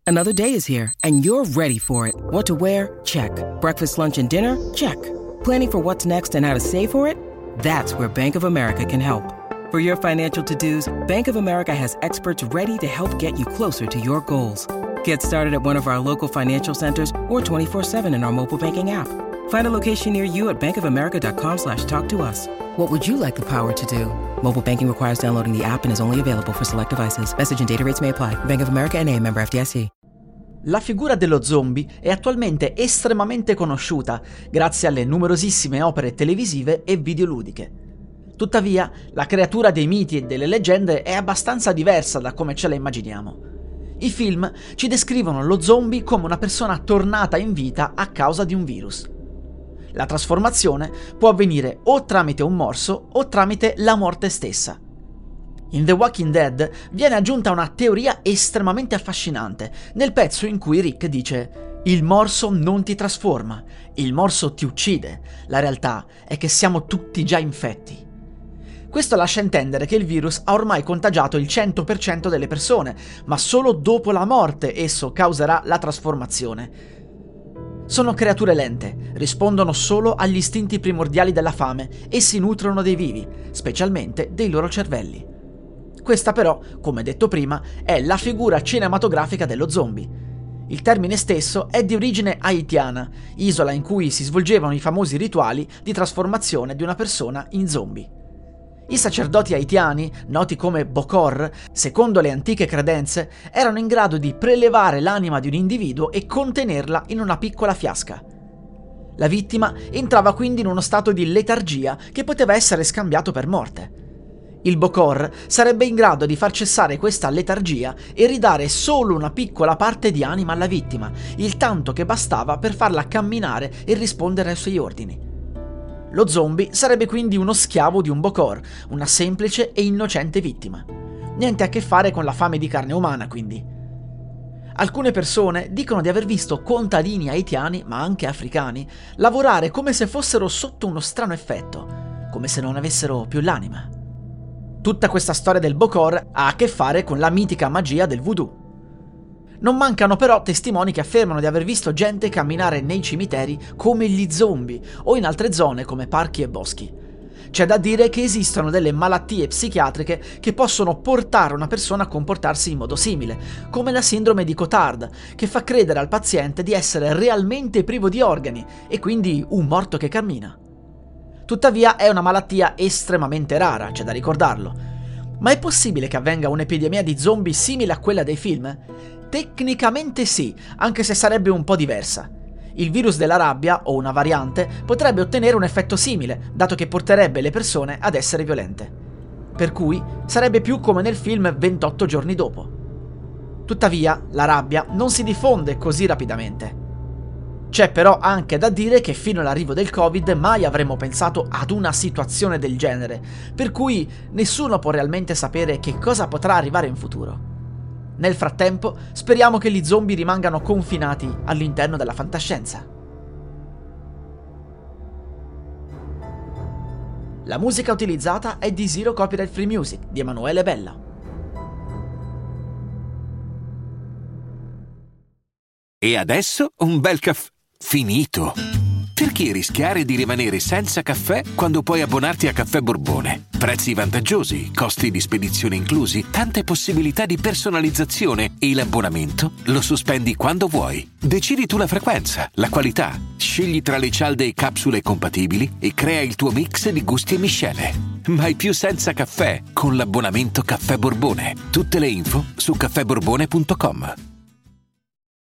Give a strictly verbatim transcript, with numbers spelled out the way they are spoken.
Another day is here, and you're ready for it. What to wear? Check. Breakfast, lunch, and dinner? Check. Planning for what's next and how to save for it? That's where Bank of America can help. For your financial to-dos, Bank of America has experts ready to help get you closer to your goals. Get started at one of our local financial centers or twenty-four seven in our mobile banking app. Find a location near you at bankofamerica.com slash talk to us. What would you like the power to do? Mobile banking requires downloading the app and is only available for select devices. Message and data rates may apply. Bank of America N A, member F D I C. La figura dello zombie è attualmente estremamente conosciuta grazie alle numerosissime opere televisive e videoludiche. Tuttavia, la creatura dei miti e delle leggende è abbastanza diversa da come ce la immaginiamo. I film ci descrivono lo zombie come una persona tornata in vita a causa di un virus. La trasformazione può avvenire o tramite un morso o tramite la morte stessa. In The Walking Dead viene aggiunta una teoria estremamente affascinante nel pezzo in cui Rick dice: «Il morso non ti trasforma, il morso ti uccide, la realtà è che siamo tutti già infetti». Questo lascia intendere che il virus ha ormai contagiato il cento per cento delle persone, ma solo dopo la morte esso causerà la trasformazione. Sono creature lente, rispondono solo agli istinti primordiali della fame e si nutrono dei vivi, specialmente dei loro cervelli. Questa però, come detto prima, è la figura cinematografica dello zombie. Il termine stesso è di origine haitiana, isola in cui si svolgevano i famosi rituali di trasformazione di una persona in zombie. I sacerdoti haitiani, noti come Bokor, secondo le antiche credenze, erano in grado di prelevare l'anima di un individuo e contenerla in una piccola fiasca. La vittima entrava quindi in uno stato di letargia che poteva essere scambiato per morte. Il Bokor sarebbe in grado di far cessare questa letargia e ridare solo una piccola parte di anima alla vittima, il tanto che bastava per farla camminare e rispondere ai suoi ordini. Lo zombie sarebbe quindi uno schiavo di un Bokor, una semplice e innocente vittima. Niente a che fare con la fame di carne umana, quindi. Alcune persone dicono di aver visto contadini haitiani, ma anche africani, lavorare come se fossero sotto uno strano effetto, come se non avessero più l'anima. Tutta questa storia del Bokor ha a che fare con la mitica magia del voodoo. Non mancano però testimoni che affermano di aver visto gente camminare nei cimiteri come gli zombie o in altre zone come parchi e boschi. C'è da dire che esistono delle malattie psichiatriche che possono portare una persona a comportarsi in modo simile, come la sindrome di Cotard, che fa credere al paziente di essere realmente privo di organi e quindi un morto che cammina. Tuttavia è una malattia estremamente rara, c'è da ricordarlo. Ma è possibile che avvenga un'epidemia di zombie simile a quella dei film? Tecnicamente sì, anche se sarebbe un po' diversa. Il virus della rabbia, o una variante, potrebbe ottenere un effetto simile, dato che porterebbe le persone ad essere violente. Per cui sarebbe più come nel film ventotto giorni dopo. Tuttavia, la rabbia non si diffonde così rapidamente. C'è però anche da dire che fino all'arrivo del Covid mai avremmo pensato ad una situazione del genere, per cui nessuno può realmente sapere che cosa potrà arrivare in futuro. Nel frattempo, speriamo che gli zombie rimangano confinati all'interno della fantascienza. La musica utilizzata è di Zero Copyright Free Music di Emanuele Bella. E adesso un bel caffè finito. Perché rischiare di rimanere senza caffè quando puoi abbonarti a Caffè Borbone? Prezzi vantaggiosi, costi di spedizione inclusi, tante possibilità di personalizzazione e l'abbonamento lo sospendi quando vuoi. Decidi tu la frequenza, la qualità, scegli tra le cialde e capsule compatibili e crea il tuo mix di gusti e miscele. Mai più senza caffè con l'abbonamento Caffè Borbone. Tutte le info su caffè borbone punto com.